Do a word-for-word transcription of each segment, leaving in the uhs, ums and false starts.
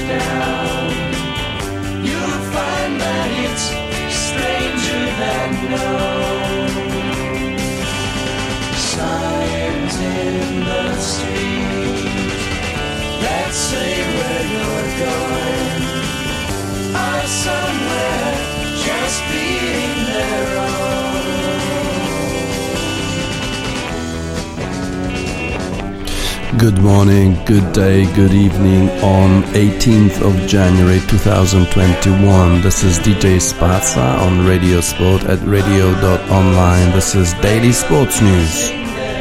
now, you'll find that it's stranger than known. Signs in the street that say where you're going are somewhere just being their own. Good morning, good day, good evening on eighteenth of January two thousand twenty-one. This is D J Spazza on Radio Sport at radio dot online. This is Daily Sports News.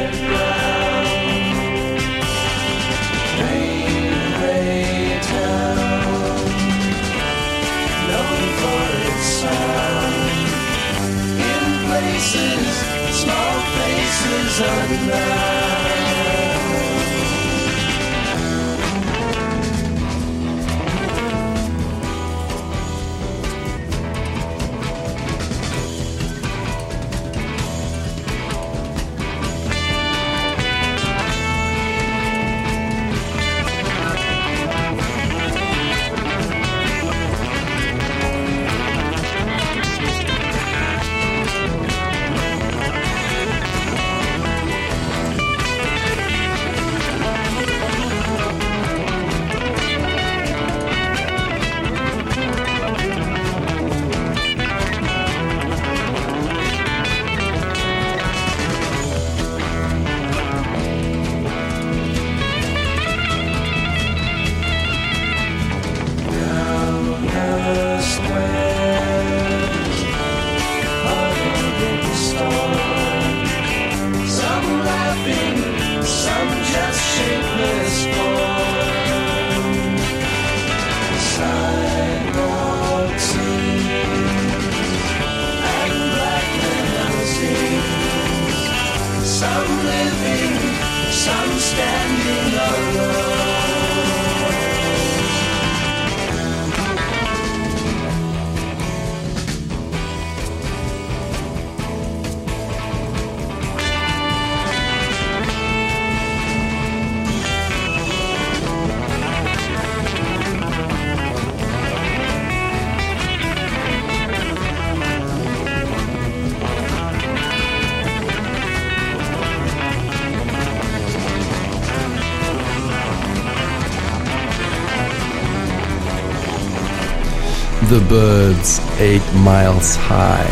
The birds eight miles high.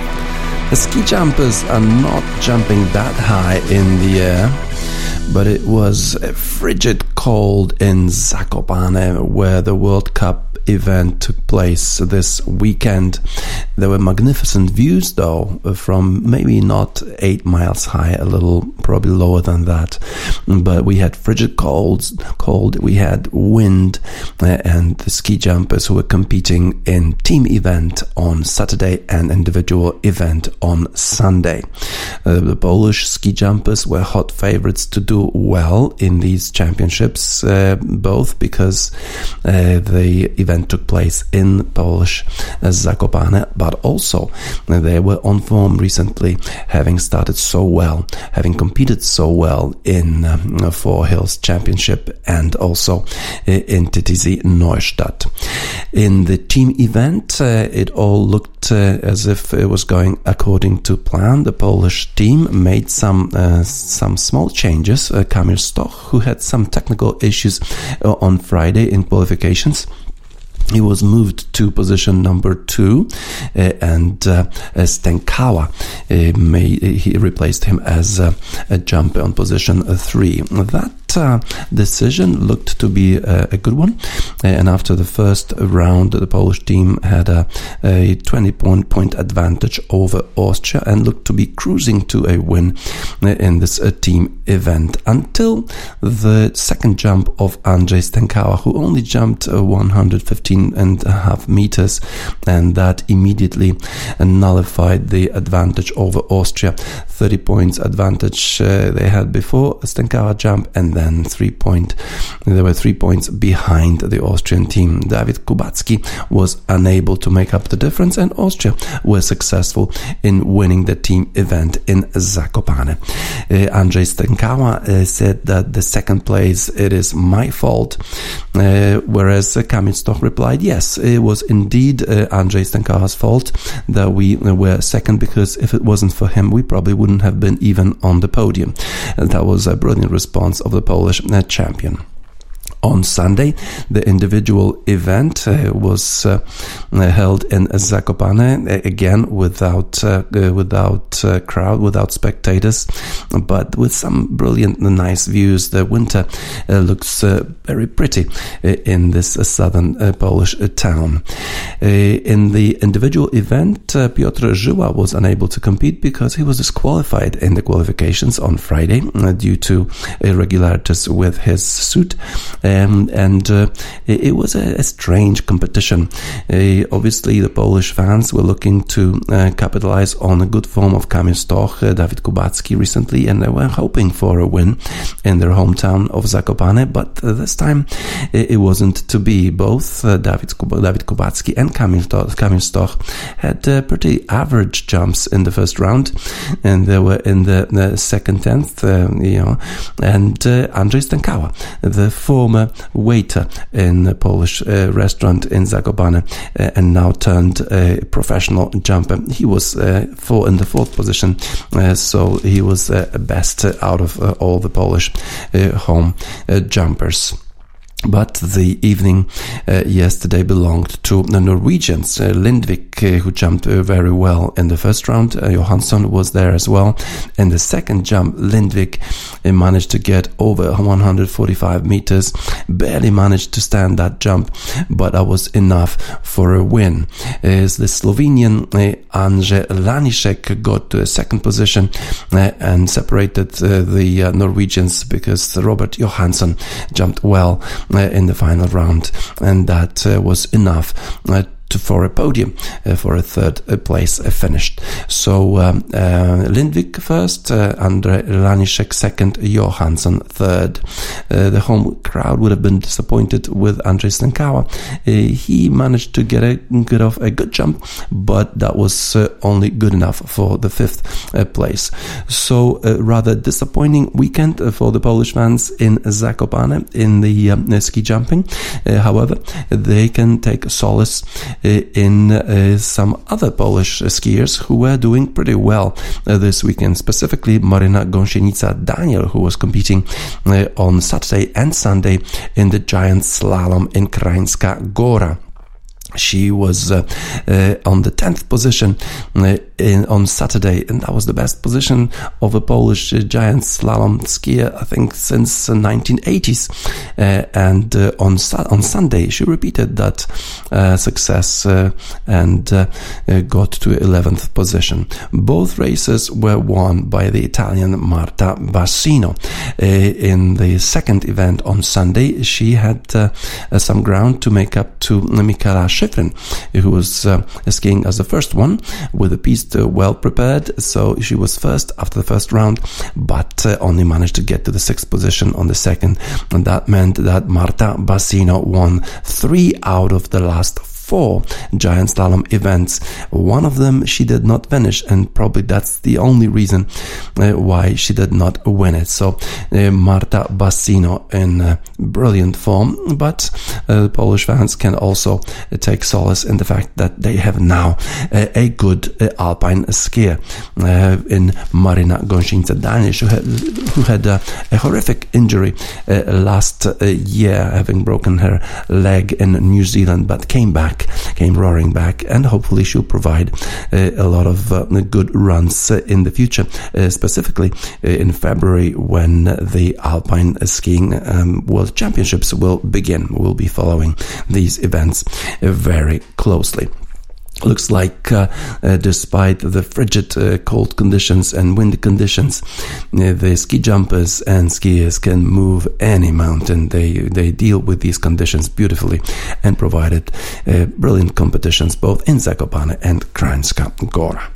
The ski jumpers are not jumping that high in the air, but it was a frigid cold in Zakopane where the World Cup event took place this weekend. There were magnificent views though from maybe not eight miles high, a little probably lower than that, but we had frigid colds, cold, we had wind, uh, and the ski jumpers who were competing in team event on Saturday and individual event on Sunday. Uh, the Polish ski jumpers were hot favorites to do well in these championships, uh, both because uh, the event took place in Polish uh, Zakopane, but also uh, they were on form recently, having started so well, having competed so well in um, Four Hills Championship and also uh, in T T Z Neustadt. In the team event, uh, it all looked uh, as if it was going according to plan. The Polish team made some uh, some small changes. Uh, Kamil Stoch, who had some technical issues uh, on Friday in qualifications, he was moved to position number two, uh, and uh, Stękała uh, made, he replaced him as uh, a jumper on position three. That uh, decision looked to be uh, a good one, uh, and after the first round, the Polish team had a, a twenty point, point advantage over Austria and looked to be cruising to a win in this uh, team event until the second jump of Andrzej Stękała, who only jumped uh, one hundred fifteen and a half meters, and that immediately nullified the advantage over Austria. thirty points advantage uh, they had before Stękała jump, and then three point there were three points behind the Austrian team. David Kubacki was unable to make up the difference, and Austria were successful in winning the team event in Zakopane. Uh, Andrzej Stękała uh, said that the second place, it is my fault. uh, whereas uh, Kamil Stoch replied, yes, it was indeed uh, Andrzej Stękowa's fault that we uh, were second, because if it wasn't for him, we probably wouldn't have been even on the podium. And that was a brilliant response of the Polish uh, champion. On Sunday, the individual event uh, was uh, held in Zakopane, again without uh, uh, without uh, crowd, without spectators, but with some brilliant, nice views. The winter uh, looks uh, very pretty uh, in this uh, southern uh, Polish uh, town. Uh, in the individual event, uh, Piotr Żyła was unable to compete because he was disqualified in the qualifications on Friday uh, due to irregularities with his suit. Um, and uh, it, it was a, a strange competition. Uh, obviously, the Polish fans were looking to uh, capitalize on a good form of Kamil Stoch, uh, Dawid Kubacki recently, and they were hoping for a win in their hometown of Zakopane, but uh, this time it, it wasn't to be. Both uh, Dawid, Kub- Dawid Kubacki and Kamil, Stoch, Kamil Stoch had uh, pretty average jumps in the first round, and they were in the, the second tenth, uh, you know, and uh, Andrzej Stękowa, the former waiter in a Polish uh, restaurant in Zakopane uh, and now turned a professional jumper. He was uh, four in the fourth position, uh, so he was uh, best out of uh, all the Polish uh, home uh, jumpers. But the evening uh, yesterday belonged to the Norwegians. Uh, Lindvik, uh, who jumped uh, very well in the first round. Uh, Johansson was there as well. In the second jump, Lindvik uh, managed to get over one hundred forty-five meters. Barely managed to stand that jump, but that was enough for a win. Uh, the Slovenian uh, Anže Lanišek got to a second position uh, and separated uh, the uh, Norwegians because Robert Johansson jumped well Uh, in the final round, and that uh, was enough uh, to, for a podium, uh, for a third uh, place uh, finished. So um, uh, Lindvik first, uh, Andrzej Lanišek second, Johansson third. Uh, the home crowd would have been disappointed with Andrzej Stękowa. Uh, he managed to get a get off a good jump, but that was uh, only good enough for the fifth uh, place. So uh, rather disappointing weekend uh, for the Polish fans in Zakopane in the um, ski jumping. Uh, however, they can take solace in uh, some other Polish uh, skiers who were doing pretty well uh, this weekend, specifically Marina Gąsienica-Daniel, who was competing uh, on Saturday and Sunday in the giant slalom in Krańska Góra. She was uh, uh, on the tenth position uh, in, on Saturday, and that was the best position of a Polish uh, giant slalom skier, I think, since the nineteen eighties. Uh, and uh, on su- on Sunday, she repeated that uh, success uh, and uh, uh, got to eleventh position. Both races were won by the Italian Marta Bassino. Uh, in the second event on Sunday, she had uh, uh, some ground to make up to Michaela Schifrin, who was uh, skiing as the first one with a piste uh, well prepared. So she was first after the first round, but uh, only managed to get to the sixth position on the second. And that meant that Marta Bassino won three out of the last four giant slalom events. One of them she did not finish, and probably that's the only reason uh, why she did not win it. So uh, Marta Bassino in uh, brilliant form, but uh, Polish fans can also uh, take solace in the fact that they have now uh, a good uh, alpine skier uh, in Marina Gąsienica-Daniel, who had, who had uh, a horrific injury uh, last uh, year, having broken her leg in New Zealand, but came back came roaring back, and hopefully she'll provide uh, a lot of uh, good runs uh, in the future, uh, specifically uh, in February when the Alpine Skiing um, World Championships will begin. We'll be following these events uh, very closely. Looks like uh, uh, despite the frigid uh, cold conditions and windy conditions, uh, the ski jumpers and skiers can move any mountain. They they deal with these conditions beautifully and provided uh, brilliant competitions both in Zakopane and Krańska Góra.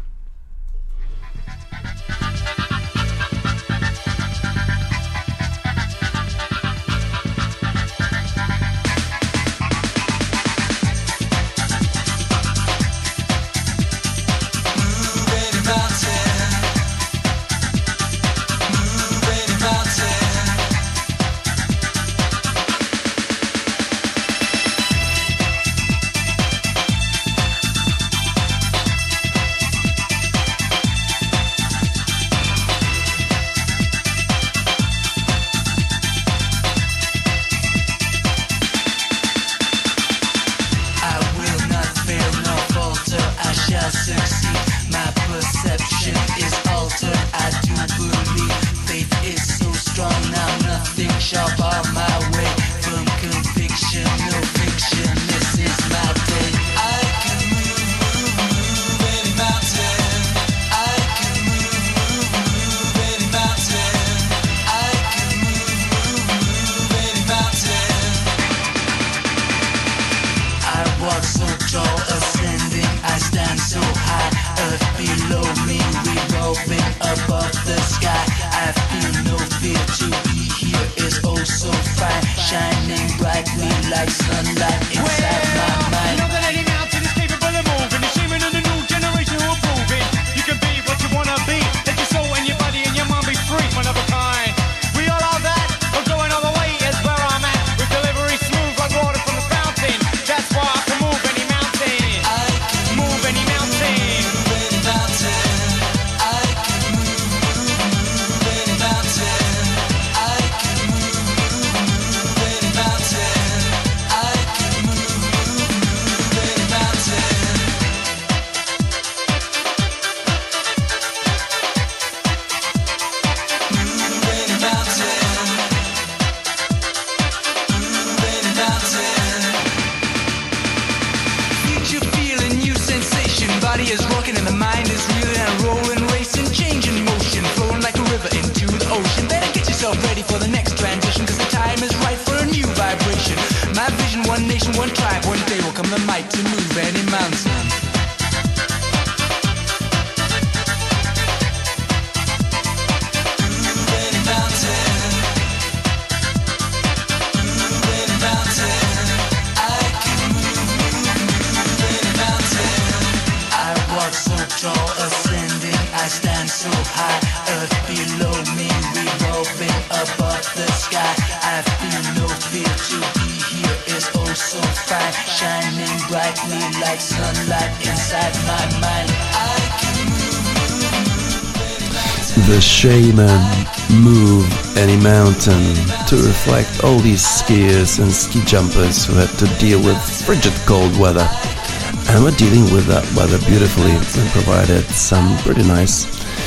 sharp on my way. From conviction, no fiction, this is my day. I can move, move, move any mountain. I can move, move, move any mountain. I can move, move, move any mountain. I walk so tall, ascending, I stand so high. Earth below me, revolving above the sky. I feel no fear, to be here is oh so fine. Shining brightly like sunlight inside my mind. You know that any mountain is capable of moving. It's achievement of the new generation who are proving you can be what you wanna be. Let your soul and your body and your mind be free, one of a kind. We all are that, but going all the way is where I'm at. With delivery smooth like water from the fountain. That's why I can move any mountain. I can Move any mountain. move any mountain. I can move, move, move any mountain. I can move, move, move any mountain. I can move, move, move any mountain. Move any mountain. Move any mountain. Future feeling, new sensation. Body is rocking and the mind is reeling and rolling, racing, changing motion, flowing like a river into the ocean. Better get yourself ready for the next transition, cause the time is right for a new vibration. My vision, one nation, one tribe. One day will come the might to move any mountain. Move any mountain. Move any mountain. I can move, move, move any mountain. I walk so tall, ascending, I stand so high. Earth below me, revolving above the sky. I feel no fear, to be here is oh so fine. Shining brightly like sunlight inside my mind. I can move, move, move any mountain. The Shaman Move Any Mountain, to reflect all these skiers and ski jumpers who had to deal with frigid cold weather. And we're dealing with that weather beautifully and provided some pretty nice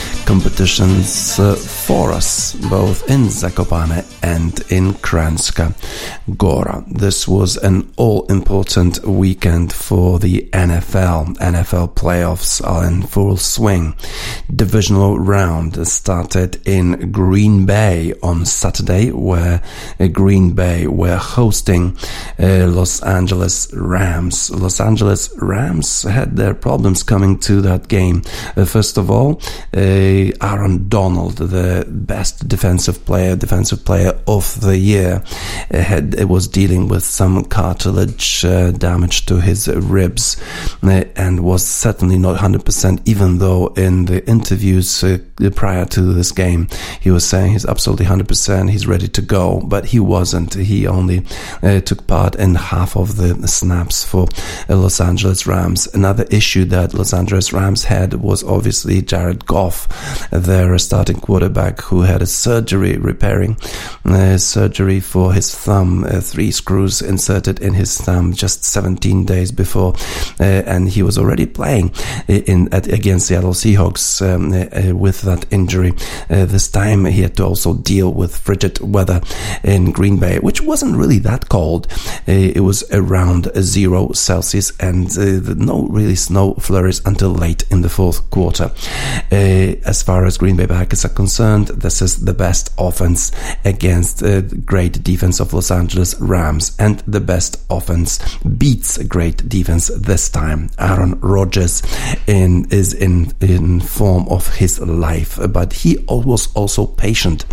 competitions uh, for us, both in Zakopane and in Kranjska Gora. This was an all-important weekend for the N F L. N F L playoffs are in full swing. Divisional round started in Green Bay on Saturday, where uh, Green Bay were hosting uh, Los Angeles Rams. Los Angeles Rams had their problems coming to that game. Uh, first of all, uh, Aaron Donald, the best defensive player, defensive player of the year, uh, had uh, was dealing with some cartilage uh, damage to his ribs, uh, and was certainly not one hundred percent, even though in the interviews uh, prior to this game he was saying he's absolutely one hundred percent, he's ready to go, but he wasn't. He only uh, took part in half of the snaps for uh, Los Angeles Rams. Another issue that Los Angeles Rams had was obviously Jared Goff, their starting quarterback, who had a surgery, repairing uh, surgery for his thumb, uh, three screws inserted in his thumb just seventeen days before, uh, and he was already playing in at, against Seattle Seahawks um, uh, with that injury. Uh, this time he had to also deal with frigid weather in Green Bay, which wasn't really that cold. Uh, it was around zero Celsius, and uh, no really snow flurries until late in the fourth quarter. Uh, as far as Green Bay Packers are concerned, this is the best offense against a great defense of Los Angeles Rams, and the best offense beats a great defense this time. Aaron Rodgers in, is in, in form of his life, but he was also patient.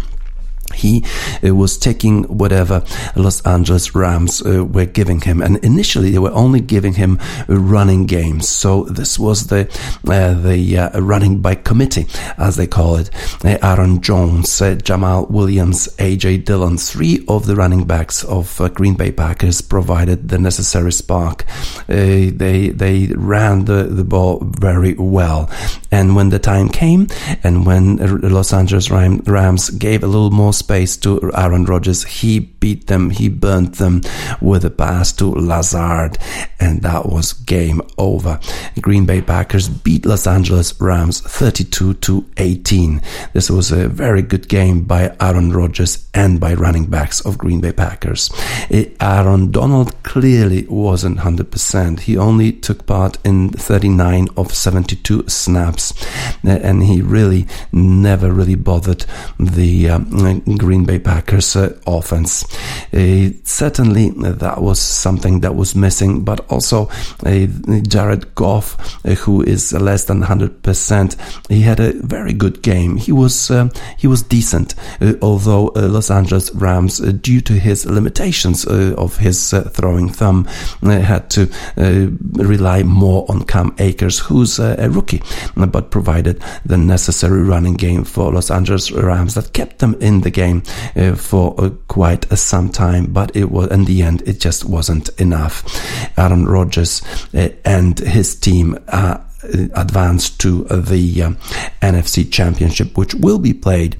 He uh, was taking whatever Los Angeles Rams uh, were giving him, and initially they were only giving him running games. So this was the uh, the uh, running by committee, as they call it. Uh, Aaron Jones, uh, Jamal Williams, A J Dillon, three of the running backs of uh, Green Bay Packers provided the necessary spark. Uh, they they ran the, the ball very well, and when the time came, and when Los Angeles Rams gave a little more space to Aaron Rodgers, he beat them, he burnt them with a pass to Lazard, and that was game over. Green Bay Packers beat Los Angeles Rams thirty-two to eighteen. This was a very good game by Aaron Rodgers and by running backs of Green Bay Packers. Aaron Donald clearly wasn't one hundred percent. He only took part in thirty-nine of seventy-two snaps, and he really never really bothered the um, Green Bay Packers uh, offense. Uh, certainly that was something that was missing, but also uh, Jared Goff, uh, who is less than one hundred percent, he had a very good game. He was uh, he was decent, uh, although uh, Los Angeles Rams, uh, due to his limitations uh, of his uh, throwing thumb, uh, had to uh, rely more on Cam Akers, who's uh, a rookie, but provided the necessary running game for Los Angeles Rams that kept them in the game uh, for uh, quite uh, some time, but it was in the end it just wasn't enough. Aaron Rodgers uh, and his team uh, advanced to the uh, N F C Championship, which will be played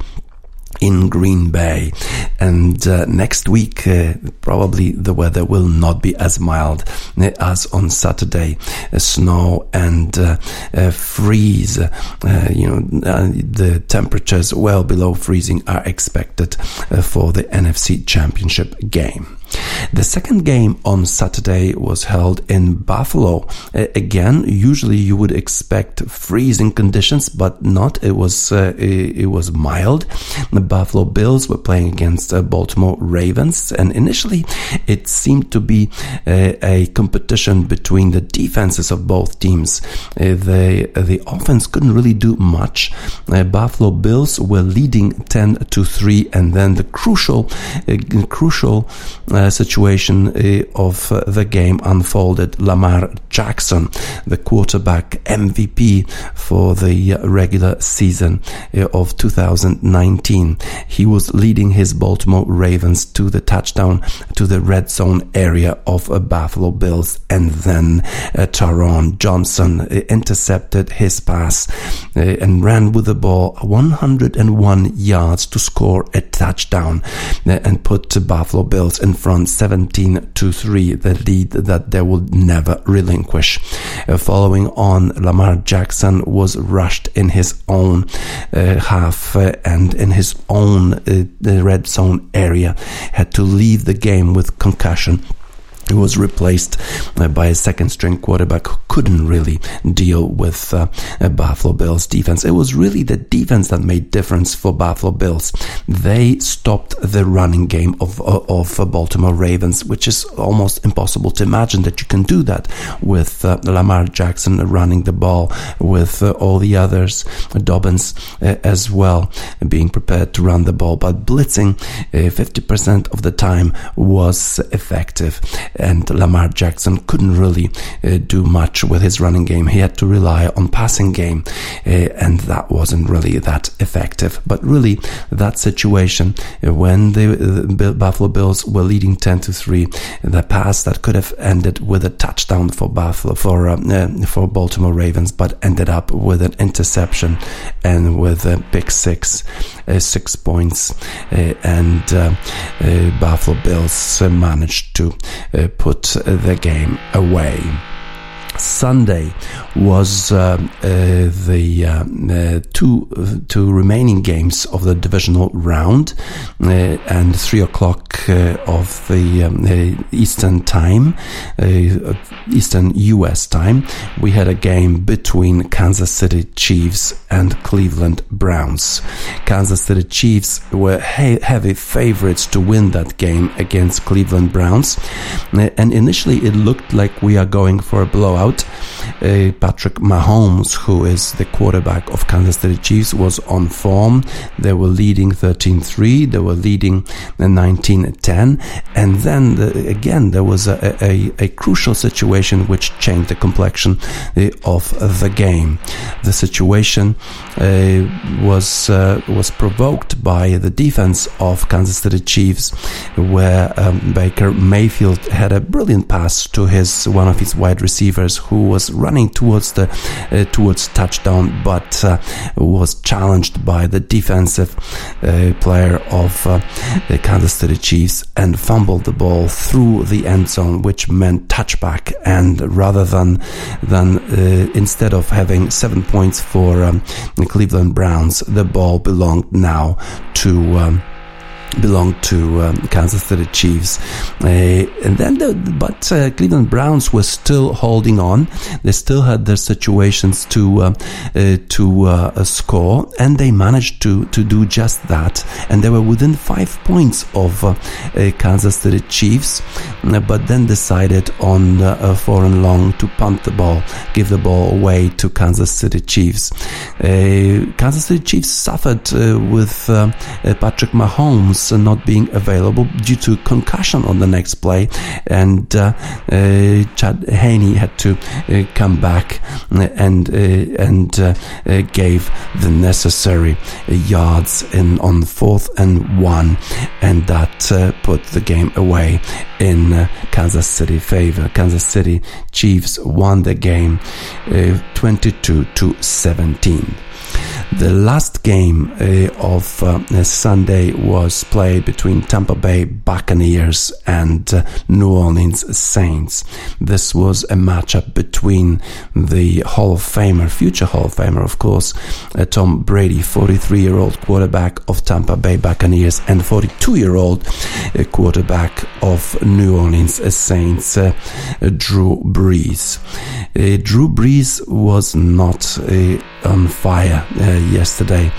in Green Bay, and uh, next week uh, probably the weather will not be as mild uh, as on Saturday. Uh, snow and uh, uh, freeze, uh, you know, uh, the temperatures well below freezing are expected uh, for the N F C Championship game. The second game on Saturday was held in Buffalo. Uh, again, usually you would expect freezing conditions, but not. It was uh, it, it was mild. The Buffalo Bills were playing against uh, Baltimore Ravens, and initially it seemed to be uh, a competition between the defenses of both teams. Uh, the the offense couldn't really do much. Uh, Buffalo Bills were leading ten to three, and then the crucial uh, crucial Uh, situation uh, of uh, the game unfolded. Lamar Jackson, the quarterback M V P for the uh, regular season uh, of two thousand nineteen. He was leading his Baltimore Ravens to the touchdown, to the red zone area of uh, Buffalo Bills, and then uh, Taron Johnson uh, intercepted his pass uh, and ran with the ball one hundred one yards to score a touchdown uh, and put the Buffalo Bills in front seventeen to three, the lead that they would never relinquish. Uh, following on, Lamar Jackson was rushed in his own uh, half uh, and in his own uh, the red zone area, had to leave the game with concussion. He was replaced uh, by a second-string quarterback who couldn't really deal with uh, uh, Buffalo Bills defense. It was really the defense that made difference for Buffalo Bills. They stopped the running game of of, of uh, Baltimore Ravens, which is almost impossible to imagine that you can do that with uh, Lamar Jackson running the ball, with uh, all the others, uh, Dobbins uh, as well, being prepared to run the ball. But blitzing uh, fifty percent of the time was effective, and Lamar Jackson couldn't really uh, do much with his running game. He had to rely on passing game, uh, and that wasn't really that effective. But really, that situation, uh, when the, the Buffalo Bills were leading ten to three, the pass that could have ended with a touchdown for Buffalo, for uh, uh, for Baltimore Ravens, but ended up with an interception and with a big six, uh, six points, uh, and uh, uh, Buffalo Bills uh, managed to uh, put the game away. Sunday was uh, uh, the uh, uh, two uh, two remaining games of the divisional round, uh, and three o'clock uh, of the um, uh, Eastern time, uh, Eastern U S time. We had a game between Kansas City Chiefs and Cleveland Browns. Kansas City Chiefs were he- heavy favorites to win that game against Cleveland Browns, uh, and initially it looked like we are going for a blowout. Uh, Patrick Mahomes, who is the quarterback of Kansas City Chiefs, was on form. They were leading thirteen three, they were leading nineteen ten, and then the, again there was a, a, a crucial situation which changed the complexion uh, of the game. The situation uh, was uh, was provoked by the defense of Kansas City Chiefs, where um, Baker Mayfield had a brilliant pass to his one of his wide receivers, Buccaneers, who was running towards the uh, towards touchdown, but uh, was challenged by the defensive uh, player of uh, the Kansas City Chiefs and fumbled the ball through the end zone, which meant touchback. And rather than than uh, instead of having seven points for um, the Cleveland Browns, the ball belonged now to um, belonged to um, Kansas City Chiefs, uh, and then the, but uh, Cleveland Browns were still holding on. They still had their situations to uh, uh, to uh, score, and they managed to to do just that. And they were within five points of uh, uh, Kansas City Chiefs, uh, but then decided on uh, a four and long to punt the ball, give the ball away to Kansas City Chiefs. Uh, Kansas City Chiefs suffered uh, with uh, uh, Patrick Mahomes not being available due to concussion on the next play, and uh, uh, Chad Henne had to uh, come back and uh, and uh, uh, gave the necessary yards in on fourth and one, and that uh, put the game away in uh, Kansas City favor. Kansas City Chiefs won the game uh, twenty-two to seventeen. The last game uh, of uh, Sunday was played between Tampa Bay Buccaneers and uh, New Orleans Saints. This was a matchup between the Hall of Famer, future Hall of Famer, of course, uh, Tom Brady, forty-three-year-old quarterback of Tampa Bay Buccaneers, and forty-two-year-old uh, quarterback of New Orleans Saints, uh, uh, Drew Brees. Uh, Drew Brees was not uh, on fire uh, yesterday.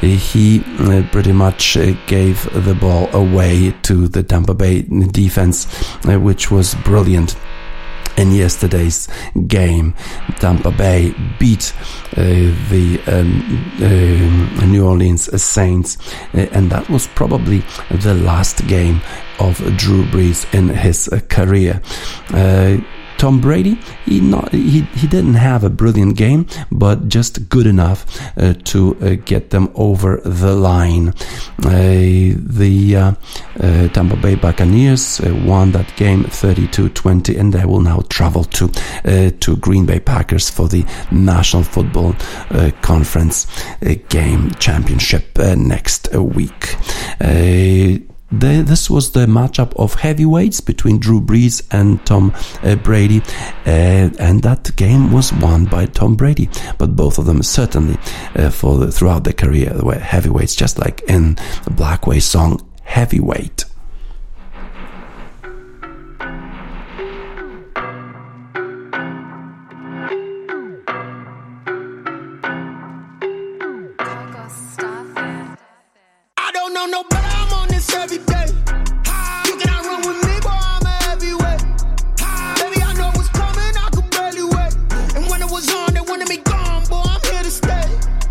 He uh, pretty much uh, gave the ball away to the Tampa Bay defense, uh, which was brilliant. In yesterday's game, Tampa Bay beat uh, the um, uh, New Orleans Saints, uh, and that was probably the last game of Drew Brees in his uh, career. Uh, Tom Brady, he not he he didn't have a brilliant game, but just good enough uh, to uh, get them over the line. Uh, the uh, uh, Tampa Bay Buccaneers uh, won that game thirty-two twenty, and they will now travel to uh, to Green Bay Packers for the National Football uh, Conference uh, game championship uh, next uh, week. Uh, The, this was the matchup of heavyweights between Drew Brees and Tom uh, Brady, uh, and that game was won by Tom Brady. But both of them certainly, uh, for the, throughout their career, were heavyweights, just like in the Blackway song "Heavyweight." I don't know no better. I'm on this every day. You cannot run with me, boy. I'm a heavyweight. Baby, I know what's coming. I could barely wait. And when it was on, they wanted me gone, boy. I'm here to stay.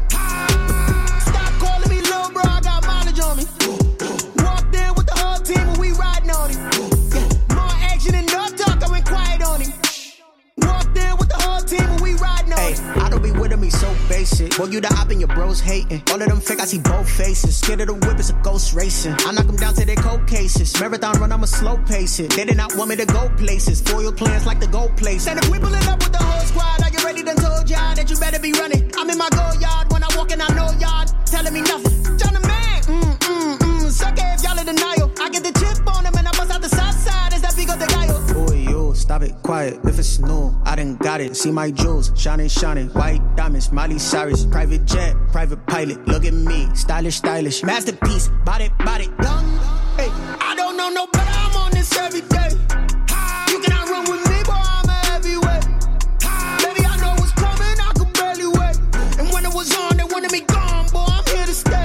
Stop calling me little bro. I got mileage on me. Walked in with the whole team and we riding on him. Yeah. More action and no talk. I went quiet on him. Walked in with the whole team and we riding on him. Hey, I don't be with me so basic. Boy, you the op and your bros hating. All of them fake, I see both faces. Scared of the whip, it's a ghost racing. I knock them down to their cold cases. Marathon run, I'ma slow pace it. They did not want me to go places. Foil plans like the go place. And if we pull it up with the whole squad, are you ready? Done told y'all that you better be running. I'm in my go yard when I walk in, I know y'all telling me nothing. John the man, mm, mm, mm. Suck it if y'all in denial. I get the chip on him and I bust out the south side. Is that Pico de Gallo? Boy, you, stop it, quiet. If it's new, I done got it. See my jewels, shining, shining. White diamonds, Miley Cyrus. Private jet, private pilot. Look at me, stylish, stylish. Masterpiece, body, body, young. Hey, I don't know no better. I'm on this every day. You cannot run with me, boy. I'm a heavyweight. Baby, I know what's coming. I could barely wait. And when it was on, they wanted me gone, boy. I'm here to stay.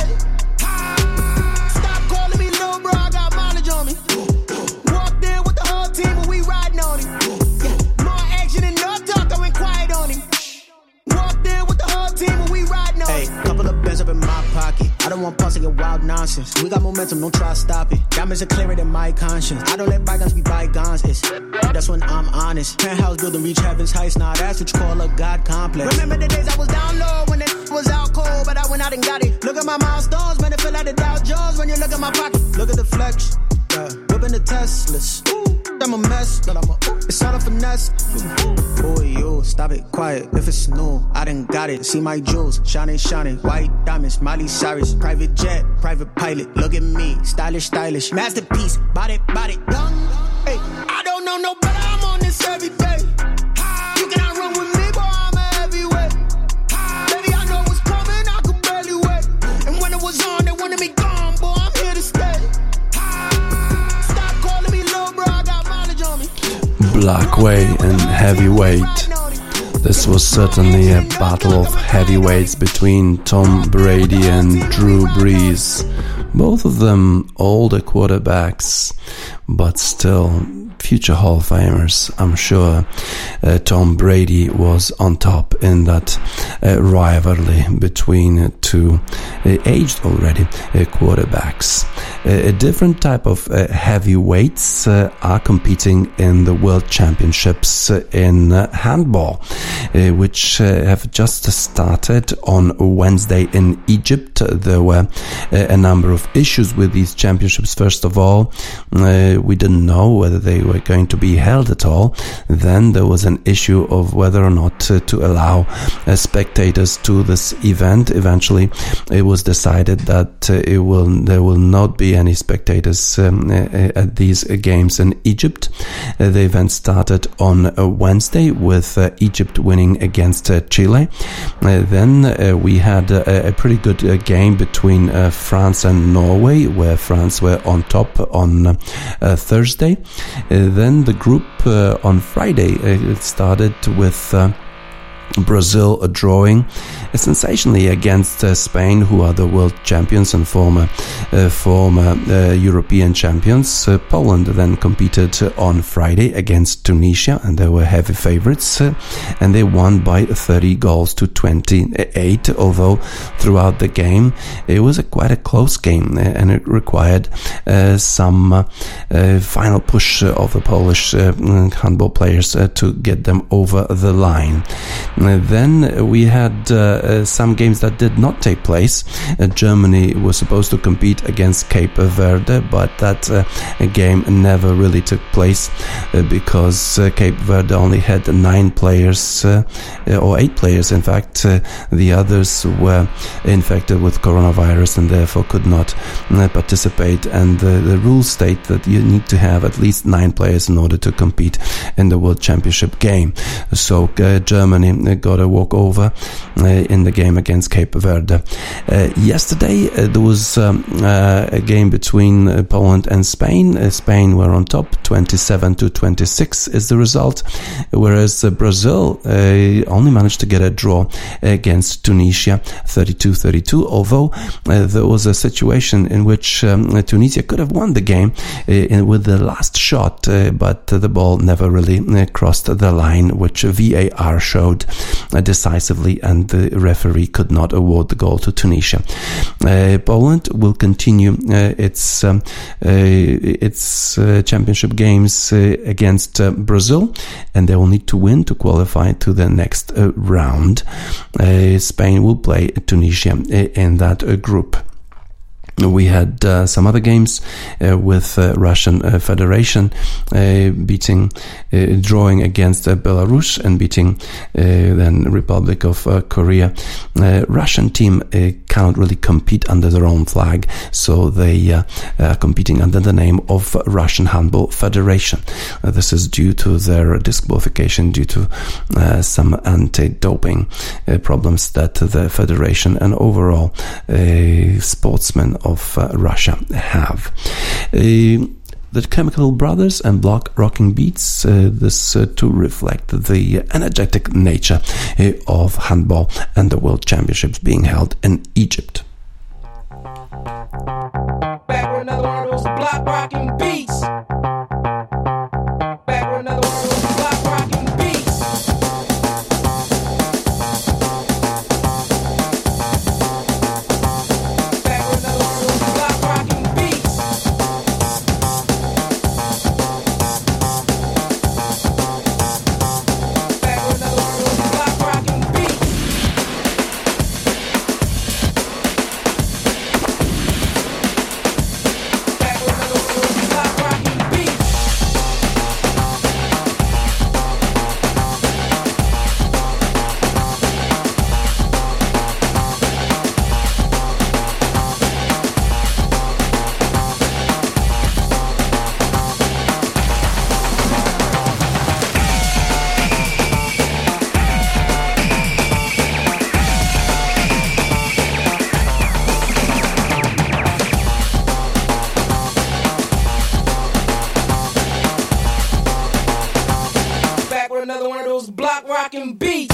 Stop calling me little bro. I got mileage on me. Walked in with the whole team and we riding on him. Yeah. More action and no talk. I went quiet on him. Walked in with the whole team and we riding on him. Hey, couple of bands up in my pocket. I don't want pause to get wild nonsense. We got momentum, don't try to stop it. Diamonds are clearer than my conscience. I don't let bygones be bygones. It's that's when I'm honest. Penthouse building, reach heaven's heights. Now that's what you call a God complex. Remember the days I was down low when it was out cold, but I went out and got it. Look at my milestones, man, it feel like the Dow Jones when you look at my pocket. Look at the flex, yeah. Whipping the Teslas. Ooh, I'm a mess, but I'm a ooh. It's all a finesse. Boy, you stop it, quiet. If it's new, I done got it. See my jewels, shining, shining. White diamonds, Miley Cyrus. Private jet, private pilot. Look at me, stylish, stylish. Masterpiece, body, body, young. Hey, I don't know no better. I'm on this every day. You cannot run with me, boy. I'm a heavyweight. Baby, I know what's coming. I could barely wait. And when it was on, they wanted me gone, boy. I'm here to stay. Stop calling me little bro. I got mileage on me. Blackway and Heavyweight. This was certainly a battle of heavyweights between Tom Brady and Drew Brees. Both of them older quarterbacks, but still future Hall of Famers. I'm sure uh, Tom Brady was on top in that uh, rivalry between uh, two uh, aged already uh, quarterbacks. Uh, a different type of uh, heavyweights uh, are competing in the World Championships uh, in uh, handball, uh, which uh, have just started on Wednesday in Egypt. There were uh, a number of issues with these championships. First of all, uh, we didn't know whether they were going to be held at all. Then there was an issue of whether or not uh, to allow uh, spectators to this event. Eventually, it was decided that uh, it will there will not be any spectators um, uh, at these uh, games in Egypt. Uh, the event started on uh, Wednesday with uh, Egypt winning against uh, Chile. Uh, then uh, we had uh, a pretty good uh, game between uh, France and Norway, where France were on top on uh, Thursday. Uh, then the group uh, on Friday uh, it started with uh, Brazil uh, drawing uh, sensationally against uh, Spain, who are the world champions and former uh, former uh, European champions. Uh, Poland then competed uh, on Friday against Tunisia, and they were heavy favorites, uh, and they won by thirty goals to twenty-eight, although throughout the game it was a quite a close game, uh, and it required uh, some uh, uh, final push uh, of the Polish uh, handball players uh, to get them over the line. Uh, then we had uh, uh, some games that did not take place. Uh, Germany was supposed to compete against Cape Verde, but that uh, game never really took place uh, because uh, Cape Verde only had nine players, uh, or eight players in fact. Uh, the others were infected with coronavirus and therefore could not uh, participate, and uh, the rules state that you need to have at least nine players in order to compete in the World Championship game. So uh, Germany got a walkover uh, in the game against Cape Verde. Uh, yesterday uh, there was um, uh, a game between uh, Poland and Spain. Uh, Spain were on top, twenty-seven to twenty-six is the result, whereas uh, Brazil uh, only managed to get a draw against Tunisia, thirty-two thirty-two, although uh, there was a situation in which um, Tunisia could have won the game uh, in, with the last shot, uh, but uh, the ball never really uh, crossed the line, which V A R showed uh, decisively, and the referee could not award the goal to Tunisia. Uh, Poland will continue uh, its um, uh, its uh, championship games uh, against uh, Brazil, and they will need to win to qualify to the next uh, round. Uh, Spain will play Tunisia in that uh, group. We had uh, some other games uh, with uh, Russian uh, Federation uh, beating, uh, drawing against uh, Belarus and beating uh, then Republic of uh, Korea. Uh, Russian team uh, cannot really compete under their own flag, so they uh, are competing under the name of Russian Handball Federation. Uh, this is due to their disqualification due to uh, some anti-doping uh, problems that the federation and overall uh, sportsmen of uh, Russia have. Uh, the Chemical Brothers and Block Rocking Beats, uh, this uh, to reflect the energetic nature uh, of handball and the World Championships being held in Egypt. Back with another one of those block rocking beats. Back with another one of those block rocking beats. Back with another one of those block rocking beats. Back with another one of those block rocking beats. Back with another one of those block those block rockin' beats.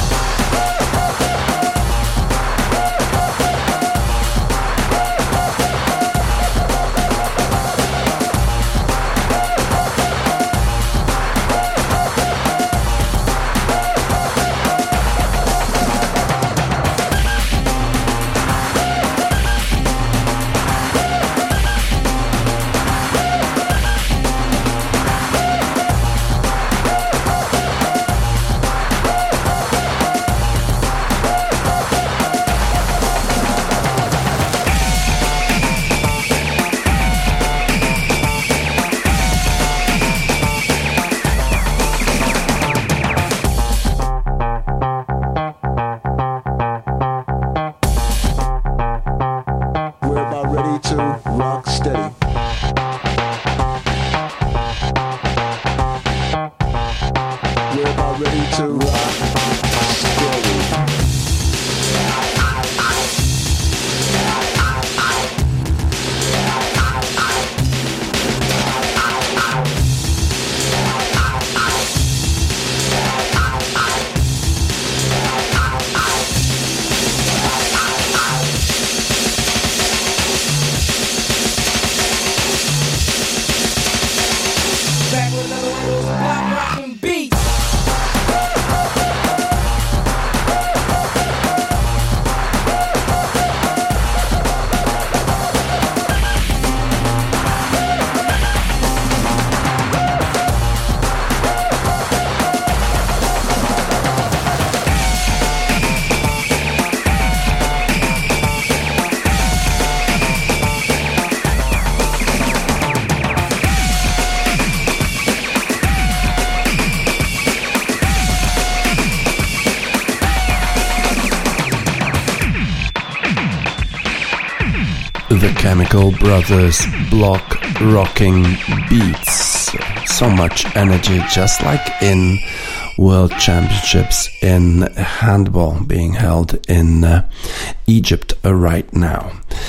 The Chemical Brothers block rocking beats. So much energy, just like in World Championships in handball being held in uh, Egypt uh, right now.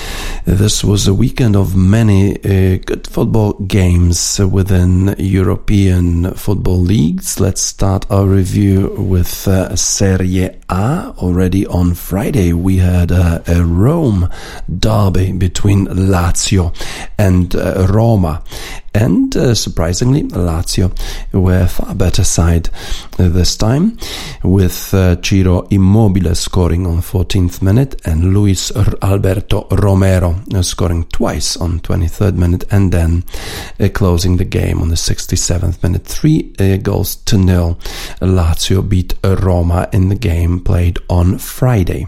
This was a weekend of many uh, good football games within European football leagues. Let's start our review with uh, Serie A. Already on Friday we had uh, a Rome derby between Lazio and uh, Roma. And uh, surprisingly, Lazio were a far better side uh, this time, with uh, Ciro Immobile scoring on fourteenth minute and Luis Alberto Romero uh, scoring twice on twenty-third minute, and then uh, closing the game on the sixty-seventh minute. Three uh, goals to nil. Lazio beat uh, Roma in the game played on Friday.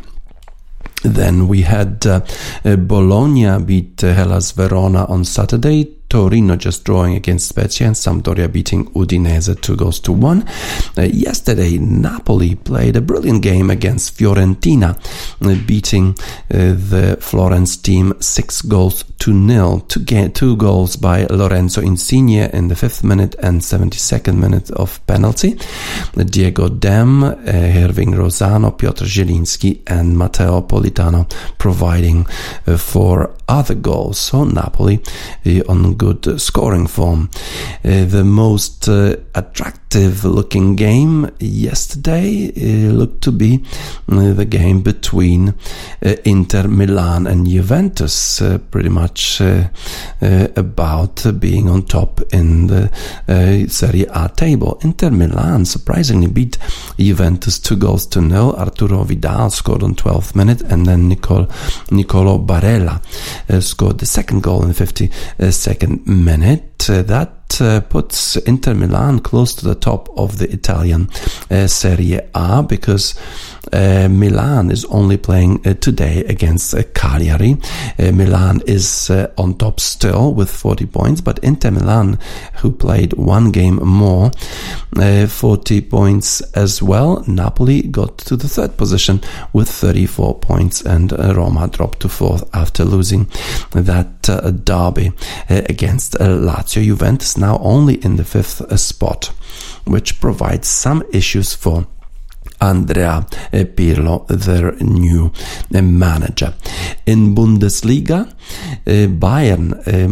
Then we had uh, uh, Bologna beat uh, Hellas Verona on Saturday. Torino just drawing against Spezia, and Sampdoria beating Udinese two goals to one. Uh, yesterday, Napoli played a brilliant game against Fiorentina, uh, beating uh, the Florence team six goals to nil. Two, ga- two goals by Lorenzo Insigne in the fifth minute and seventy-second minute of penalty. Uh, Diego Dem, uh, Herving Rosano, Piotr Zielinski, and Matteo Politano providing uh, four other goals. So Napoli uh, on good scoring form. Uh, the most uh, attractive looking game yesterday uh, looked to be uh, the game between uh, Inter Milan and Juventus, uh, pretty much uh, uh, about uh, being on top in the uh, Serie A table. Inter Milan surprisingly beat Juventus two goals to nil. Arturo Vidal scored on twelfth minute, and then Nicol- Nicolo Barella uh, scored the second goal in the fifty-second minute. Uh, that uh, puts Inter Milan close to the top of the Italian uh, Serie A, because uh, Milan is only playing uh, today against uh, Cagliari. Uh, Milan is uh, on top still with forty points, but Inter Milan, who played one game more, uh, forty points as well. Napoli got to the third position with thirty-four points, and uh, Roma dropped to fourth after losing that uh, derby uh, against uh, Lazio. Juventus now only in the fifth uh, spot, which provides some issues for Andrea Pirlo, their new manager. In Bundesliga, uh, Bayern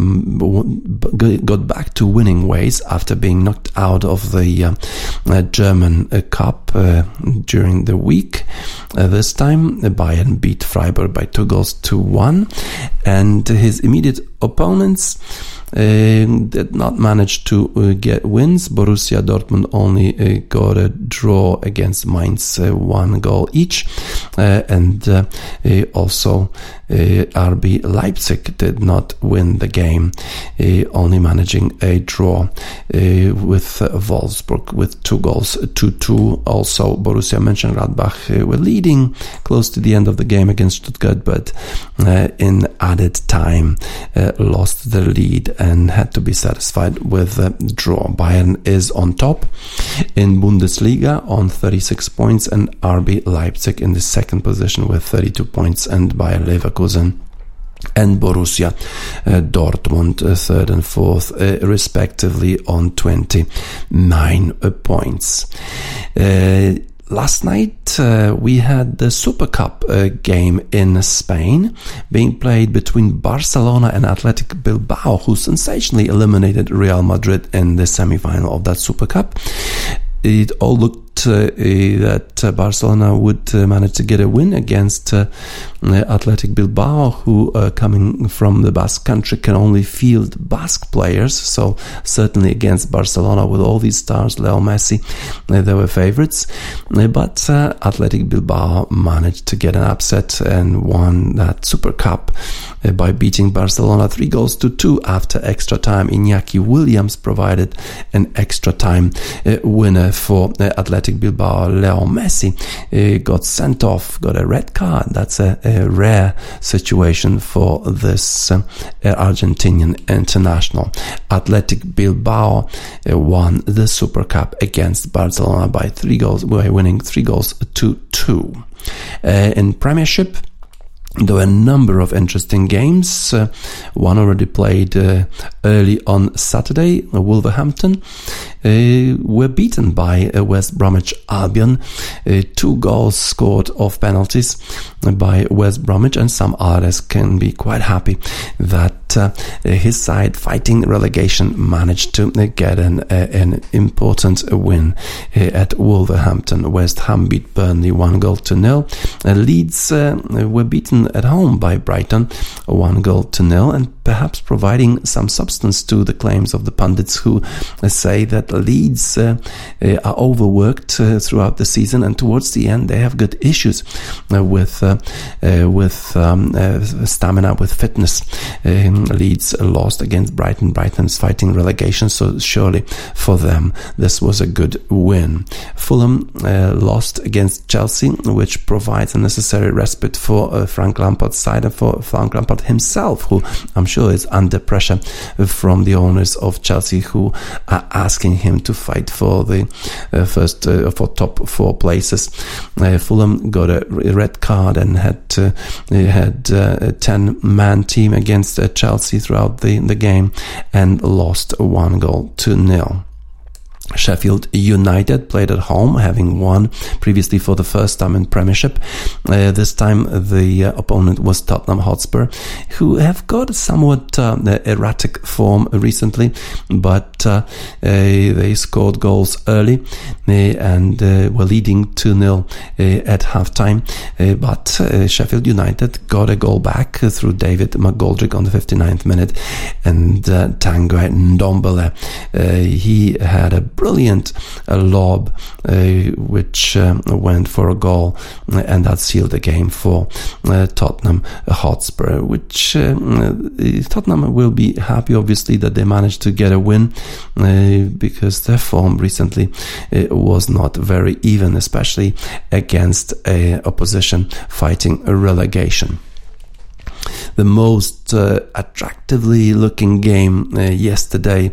um, got back to winning ways after being knocked out of the uh, uh, German uh, Cup uh, during the week. Uh, this time, Bayern beat Freiburg by two goals to one, and his immediate opponents Uh, did not manage to uh, get wins. Borussia Dortmund only uh, got a draw against Mainz, uh, one goal each, uh, and uh, uh, also uh, R B Leipzig did not win the game, uh, only managing a draw uh, with uh, Wolfsburg with two goals to two. Also, Borussia Mönchengladbach uh, were leading close to the end of the game against Stuttgart, but uh, in added time uh, lost the lead and had to be satisfied with the draw. Bayern is on top in Bundesliga on thirty-six points, and R B Leipzig in the second position with thirty-two points, and Bayer Leverkusen and Borussia uh, Dortmund uh, third and fourth uh, respectively on twenty-nine uh, points. Uh, Last night uh, we had the Super Cup uh, game in Spain being played between Barcelona and Athletic Bilbao, who sensationally eliminated Real Madrid in the semi-final of that Super Cup. It all looked uh, that uh, Barcelona would uh, manage to get a win against uh, Athletic Bilbao, who uh, coming from the Basque country can only field Basque players. So certainly against Barcelona with all these stars, Leo Messi, uh, they were favorites. Uh, but uh, Athletic Bilbao managed to get an upset and won that Super Cup uh, by beating Barcelona three goals to two after extra time. Iñaki Williams provided an extra time uh, winner for uh, Athletic Bilbao. Leo Messi uh, got sent off, got a red card. That's a, a rare situation for this uh, Argentinian international. Athletic Bilbao uh, won the Super Cup against Barcelona by three goals, by winning three goals to two. Uh, in Premiership, there were a number of interesting games. Uh, one already played uh, early on Saturday. Wolverhampton uh, were beaten by uh, West Bromwich Albion. Uh, two goals scored off penalties by West Bromwich, and Sam Allardyce can be quite happy that uh, his side, fighting relegation, managed to uh, get an, uh, an important win uh, at Wolverhampton. West Ham beat Burnley one goal to nil. Uh, Leeds uh, were beaten at home by Brighton, one goal to nil, and perhaps providing some substance to the claims of the pundits who uh, say that Leeds uh, uh, are overworked uh, throughout the season, and towards the end they have got issues uh, with uh, uh, with um, uh, stamina, with fitness. Uh, Leeds lost against Brighton. Brighton's fighting relegation, so surely for them this was a good win. Fulham uh, lost against Chelsea, which provides a necessary respite for uh, Frank Lampard's side and for Frank Lampard himself, who I'm sure is under pressure from the owners of Chelsea, who are asking him to fight for the uh, first uh, for top four places. Uh, Fulham got a red card and had uh, had uh, a ten-man team against uh, Chelsea throughout the, the game and lost one goal to nil. Sheffield United played at home, having won previously for the first time in Premiership. Uh, this time the uh, opponent was Tottenham Hotspur, who have got somewhat uh, erratic form recently, but uh, uh, they scored goals early uh, and uh, were leading two nil uh, at half-time. Uh, but uh, Sheffield United got a goal back uh, through David McGoldrick on the fifty-ninth minute, and uh, Tanguy Ndombele, uh, he had a brilliant uh, lob uh, which uh, went for a goal, uh, and that sealed the game for uh, Tottenham Hotspur, which uh, Tottenham will be happy obviously that they managed to get a win, uh, because their form recently uh, was not very even, especially against a opposition fighting a relegation. The most uh, attractively looking game uh, yesterday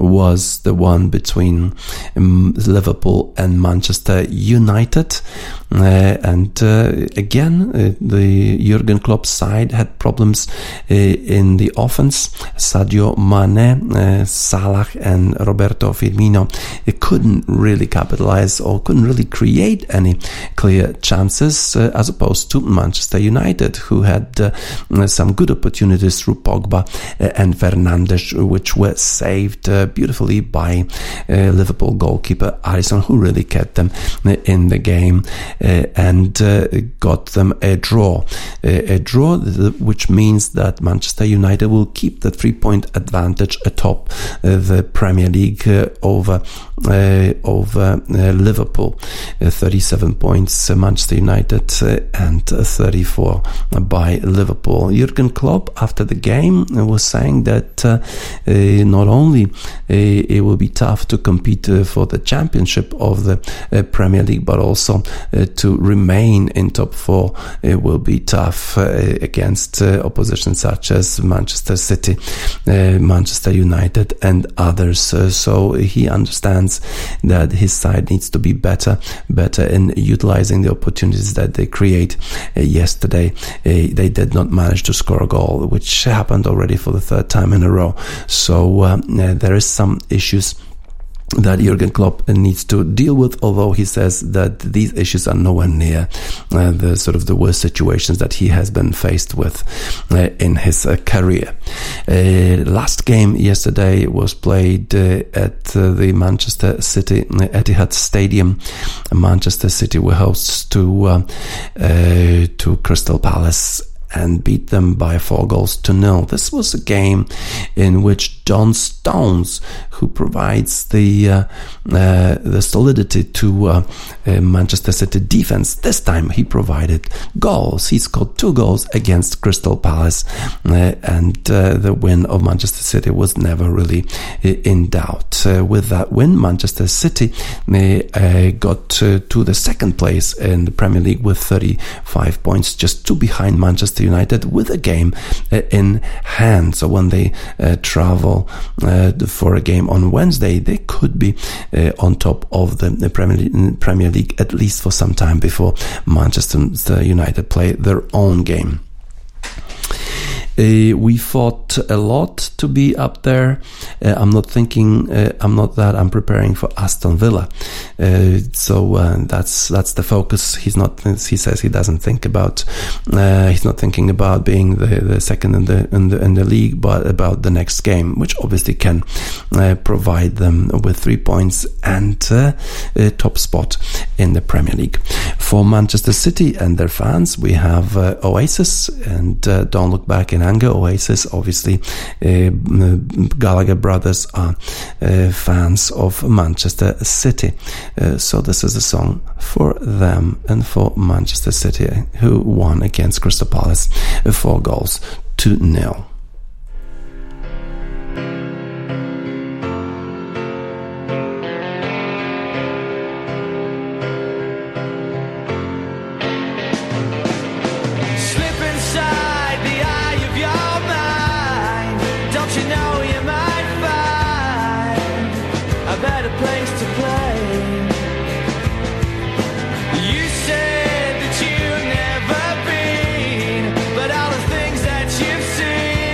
was the one between um, Liverpool and Manchester United. Uh, and uh, again, uh, the Jurgen Klopp side had problems uh, in the offense. Sadio Mane, uh, Salah and Roberto Firmino uh, couldn't really capitalize or couldn't really create any clear chances uh, as opposed to Manchester United, who had uh, some good opportunities through Pogba uh, and Fernandes, which were saved uh, beautifully by uh, Liverpool goalkeeper Alisson, who really kept them uh, in the game. Uh, and uh, got them a draw. Uh, a draw, which means that Manchester United will keep the three-point advantage atop uh, the Premier League uh, over uh, over uh, Liverpool. Uh, thirty-seven points uh, Manchester United uh, and uh, thirty-four by Liverpool. Jurgen Klopp, after the game, uh, was saying that uh, uh, not only uh, it will be tough to compete uh, for the championship of the uh, Premier League, but also uh, to remain in top four. It will be tough uh, against uh, opposition such as Manchester City, uh, Manchester United and others. Uh, so he understands that his side needs to be better, better in utilizing the opportunities that they create. Uh, yesterday, uh, they did not manage to score a goal, which happened already for the third time in a row. So uh, uh, there is some issues that Jurgen Klopp needs to deal with, although he says that these issues are nowhere near uh, the sort of the worst situations that he has been faced with uh, in his uh, career. Uh, last game yesterday was played uh, at uh, the Manchester City Etihad Stadium. Manchester City were hosts to uh, uh, to Crystal Palace and beat them by four goals to nil. This was a game in which John Stones, who provides the uh, uh, the solidity to uh, uh, Manchester City defense, this time he provided goals. He scored two goals against Crystal Palace, uh, and uh, the win of Manchester City was never really uh, in doubt. Uh, with that win, Manchester City uh, uh, got uh, to the second place in the Premier League with thirty-five points, just two behind Manchester United, with a game uh, in hand. So when they uh, travel uh, for a game on Wednesday, they could be uh, on top of the, the Premier League, Premier League at least for some time before Manchester United play their own game. Uh, we fought a lot to be up there. Uh, I'm not thinking. Uh, I'm not that. I'm preparing for Aston Villa. Uh, so uh, that's that's the focus. He's not. He says he doesn't think about. Uh, he's not thinking about being the, the second in the, in the in the league, but about the next game, which obviously can uh, provide them with three points and uh, a top spot in the Premier League. For Manchester City and their fans, we have uh, Oasis and uh, Don't Look Back in Anger. Oasis, obviously, uh, Gallagher brothers are uh, fans of Manchester City. Uh, so this is a song for them and for Manchester City, who won against Crystal Palace four goals to nil. Said that you've never been, but all the things that you've seen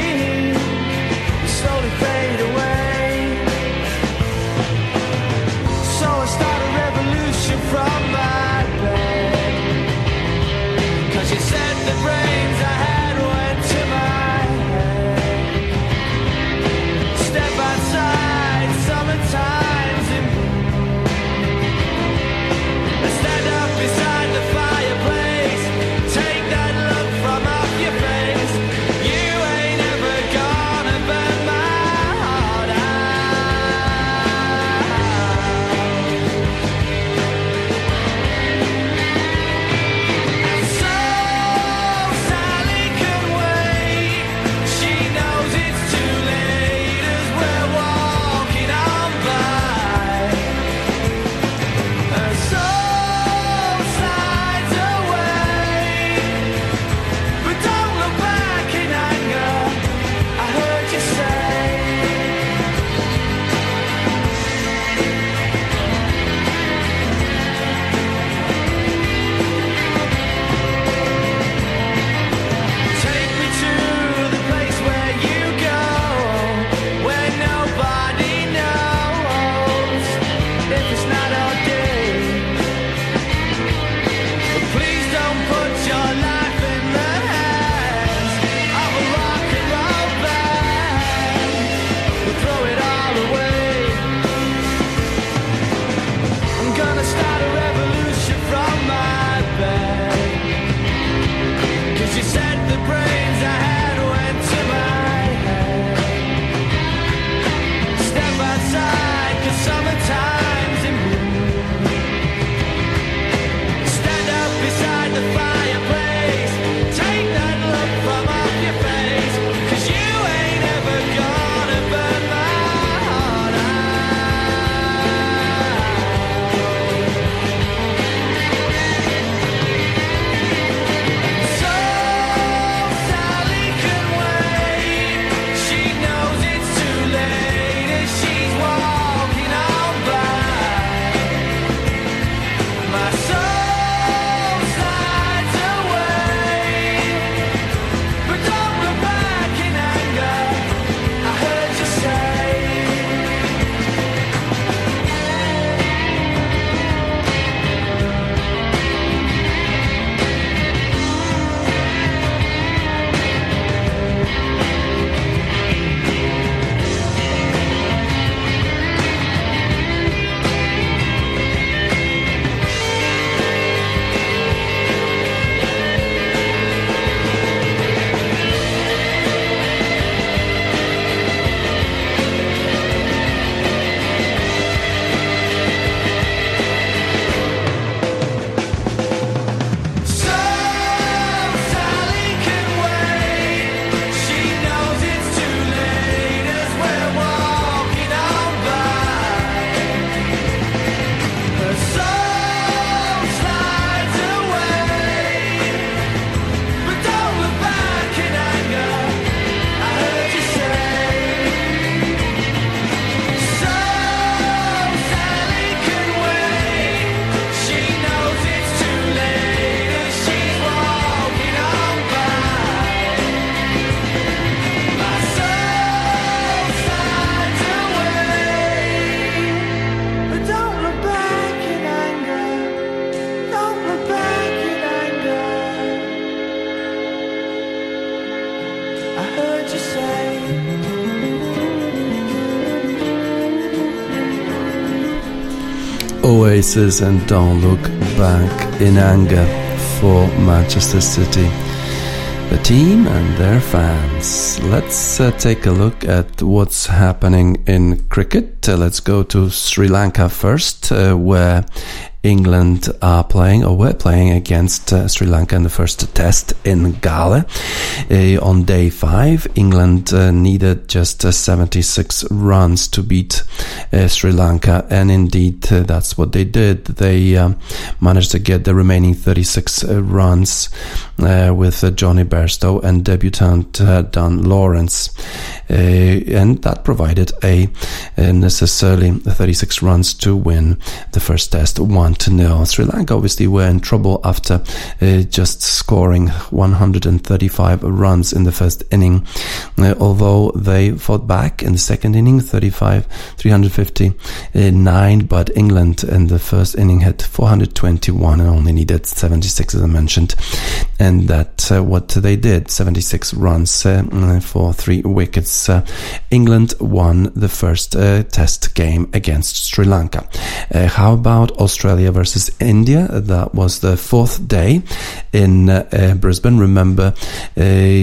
Oasis and Don't Look Back in anger for Manchester City, the team and their fans. Let's uh, take a look at what's happening in cricket. Uh, let's go to Sri Lanka first, uh, where England are playing, or were playing against uh, Sri Lanka in the first test in Gale. Uh, on day five, England uh, needed just uh, seventy-six runs to beat uh, Sri Lanka, and indeed uh, that's what they did. They um, managed to get the remaining thirty-six uh, runs uh, with uh, Johnny Bairstow and debutant uh, Dan Lawrence, uh, and that provided a, a necessarily thirty-six runs to win the first test one to nil. Sri Lanka obviously were in trouble after uh, just scoring one hundred thirty-five runs in the first inning, uh, although they fought back in the second inning, thirty-five, three hundred fifty-nine, but England in the first inning had four hundred twenty-one and only needed seventy-six, as I mentioned, and that's uh, what they did, seventy-six runs uh, for three wickets. Uh, England won the first uh, test game against Sri Lanka. Uh, how about Australia versus India? That was the fourth day in uh, uh, Brisbane. Remember, uh,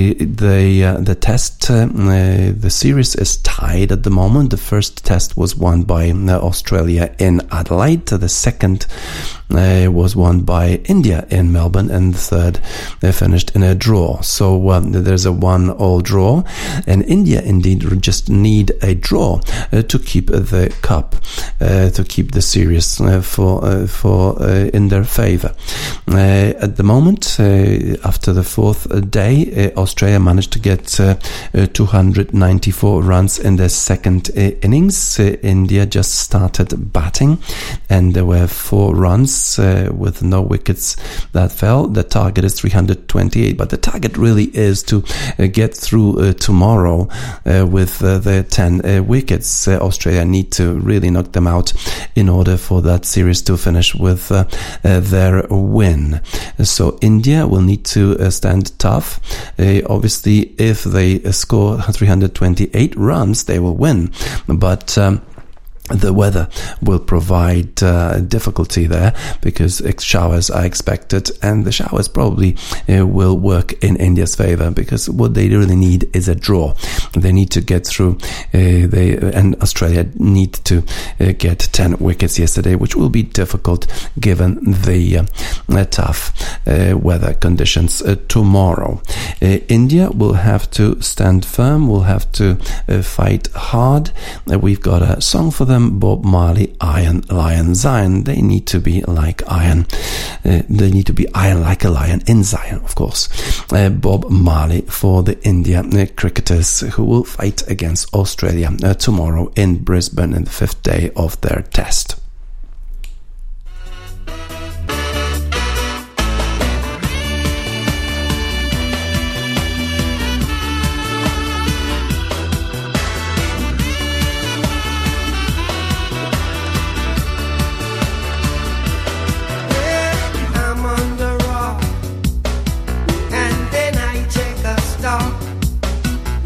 the uh, the test, uh, uh, the series is tied at the moment. The first test was won by uh, Australia in Adelaide. The second uh, was won by India in Melbourne, and the third uh, finished in a draw. So um, there's a one-all draw, and India indeed just need a draw uh, to keep the cup, uh, to keep the series uh, for uh, for uh, in their favour. Uh, at the moment, uh, after the fourth day, uh, Australia managed to get uh, uh, two hundred ninety-four runs in their second uh, innings. Uh, India just started batting, and there were four runs uh, with no wickets that fell. The target is three hundred twenty-eight, but the target really is to uh, get through uh, tomorrow uh, with uh, the ten uh, wickets. Uh, Australia need to really knock them out in order for that series to finish with uh, uh, their win. So India will need to uh, stand tough. Uh, obviously, if they uh, score three hundred twenty-eight runs, they will win. But um, the weather will provide uh, difficulty there, because showers are expected, and the showers probably uh, will work in India's favor, because what they really need is a draw. They need to get through, uh, they and Australia need to uh, get ten wickets yesterday, which will be difficult given the uh, tough uh, weather conditions uh, tomorrow. Uh, India will have to stand firm, will have to uh, fight hard. Uh, we've got a song for them, Bob Marley, Iron Lion Zion. They need to be like iron. Uh, they need to be iron like a lion in Zion, of course. Uh, Bob Marley for the India uh, cricketers, who will fight against Australia uh, tomorrow in Brisbane in the fifth day of their test.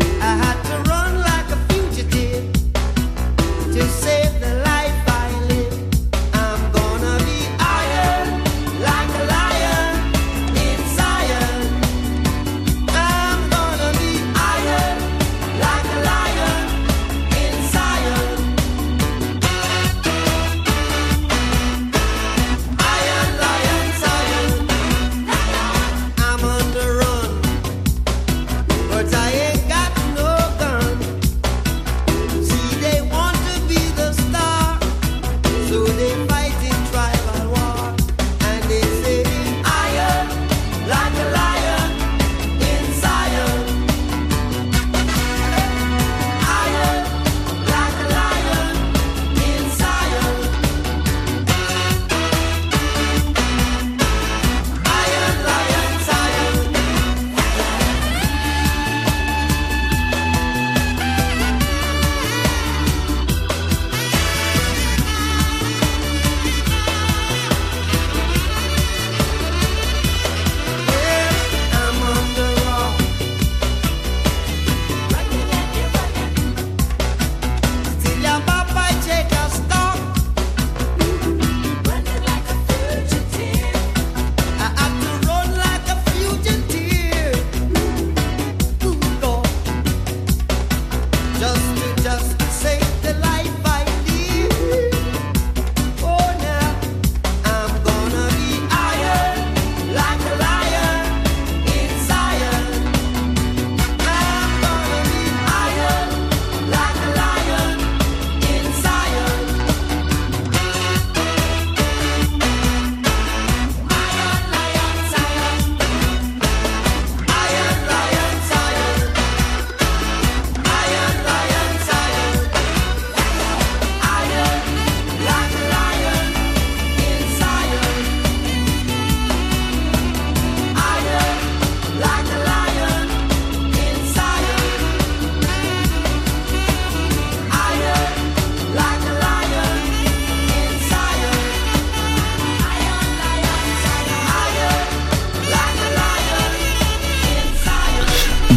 To save the life I live.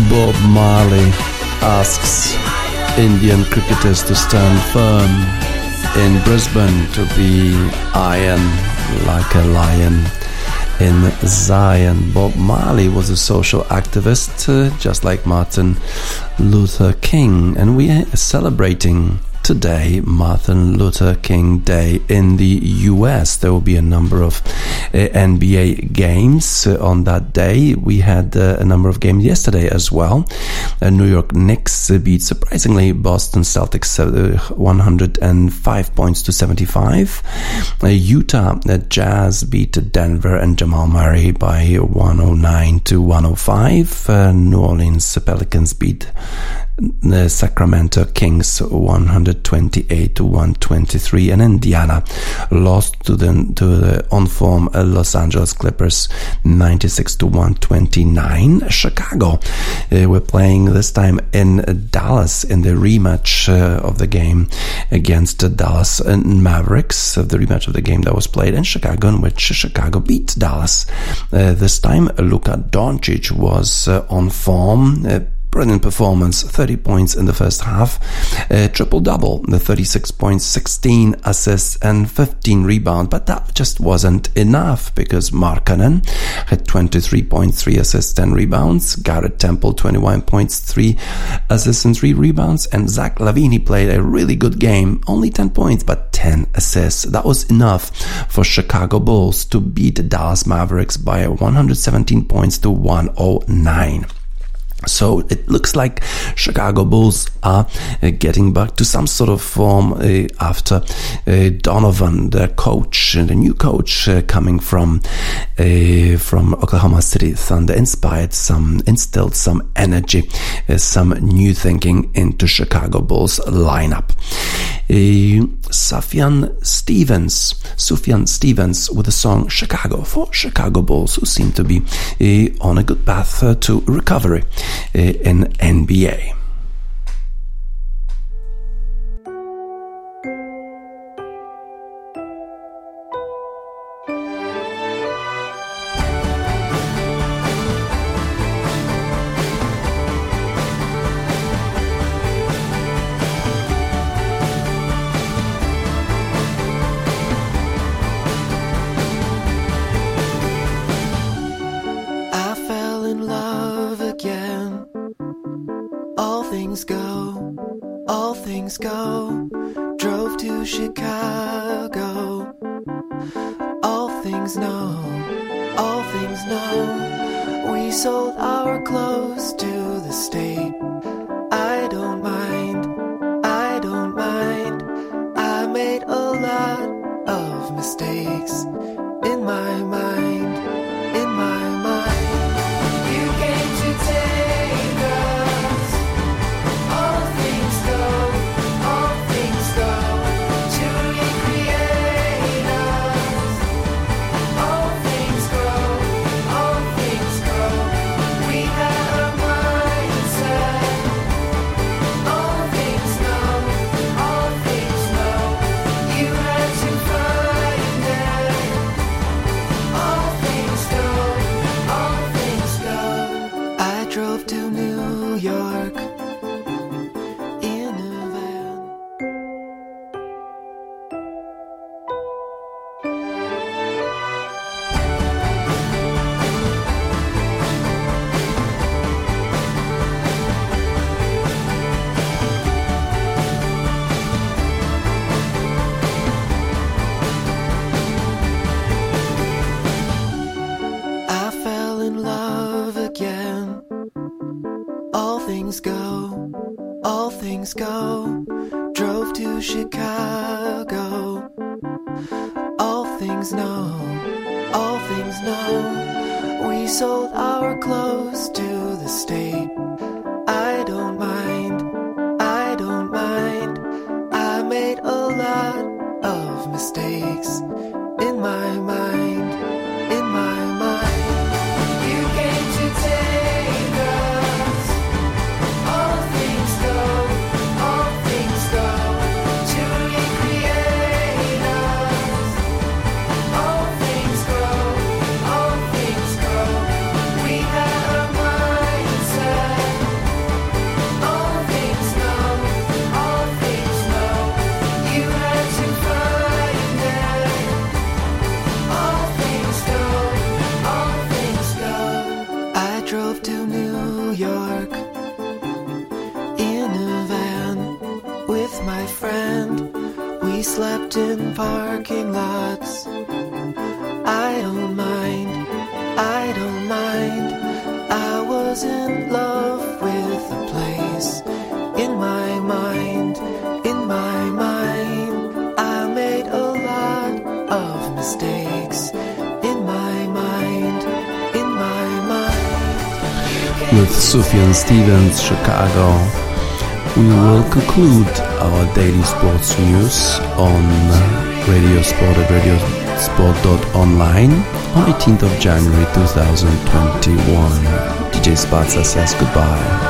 Bob Marley asks Indian cricketers to stand firm in Brisbane, to be iron like a lion in Zion. Bob Marley was a social activist, uh, just like Martin Luther King, and we are celebrating today Martin Luther King Day in the U S. There will be a number of uh, N B A games uh, on that day. We had uh, a number of games yesterday as well. Uh, New York Knicks uh, beat surprisingly Boston Celtics uh, one hundred five points to seventy-five. Uh, Utah uh, Jazz beat Denver and Jamal Murray by one oh nine to one oh five. Uh, New Orleans Pelicans beat the Sacramento Kings one hundred twenty-eight to one twenty-three, and Indiana lost to the to the on-form Los Angeles Clippers ninety-six to one twenty-nine. Chicago uh, were playing this time in Dallas in the rematch uh, of the game against the Dallas Mavericks, of the rematch of the game that was played in Chicago, in which Chicago beat Dallas. Uh, this time Luka Doncic was uh, on form. Uh, Brilliant performance, thirty points in the first half, uh, triple-double, the thirty-six points, sixteen assists and fifteen rebounds, but that just wasn't enough because Markkanen had twenty-three points, three assists, ten rebounds, Garrett Temple, twenty-one points, three assists and three rebounds, and Zach LaVine, he played a really good game, only ten points, but ten assists. That was enough for Chicago Bulls to beat the Dallas Mavericks by one hundred seventeen points to one oh nine. So it looks like Chicago Bulls are uh, getting back to some sort of form uh, after uh, Donovan, their coach, uh, the new coach uh, coming from uh, from Oklahoma City Thunder, inspired some, instilled some energy, uh, some new thinking into Chicago Bulls lineup. Uh, Sufjan Stevens, Sufjan Stevens with the song Chicago for Chicago Bulls, who seem to be uh, on a good path uh, to recovery uh, in N B A. Go, drove to Chicago. All things know, all things know. We sold our clothes to the state. I don't mind, I don't mind. I made a lot of mistakes in my mind, in my mind. You came to take us. All things go. Go, drove to Chicago. All things know, all things know. We sold our clothes to the state. I don't mind, I don't mind. I made a lot of mistakes in my mind, in my mind. You came to take us. All things go. All things go. We had a mindset. We slept in parking lots. I don't mind, I don't mind. I was in love with the place. In my mind, in my mind, I made a lot of mistakes. In my mind, in my mind. With Sufjan Stevens, Chicago, we will conclude our daily sports news on Radio Sport at radiosport dot online on eighteenth of January twenty twenty-one. D J Spazza says goodbye.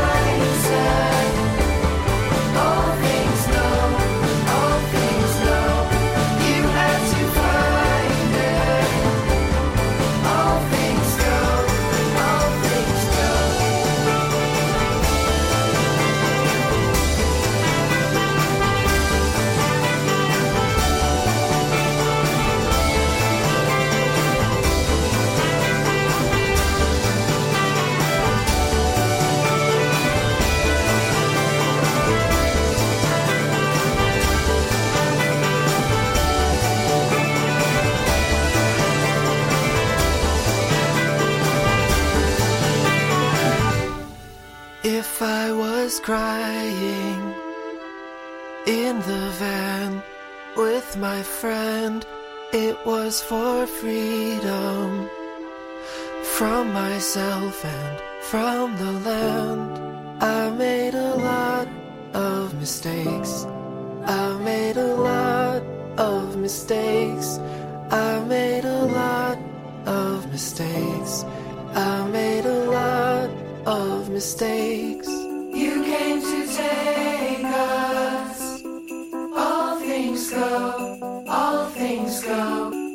If I was crying in the van with my friend, it was for freedom from myself and from the land. I made a lot of mistakes. I made a lot of mistakes. I made a lot of mistakes. I made a lot of mistakes. You came to take us. All things go, all things go.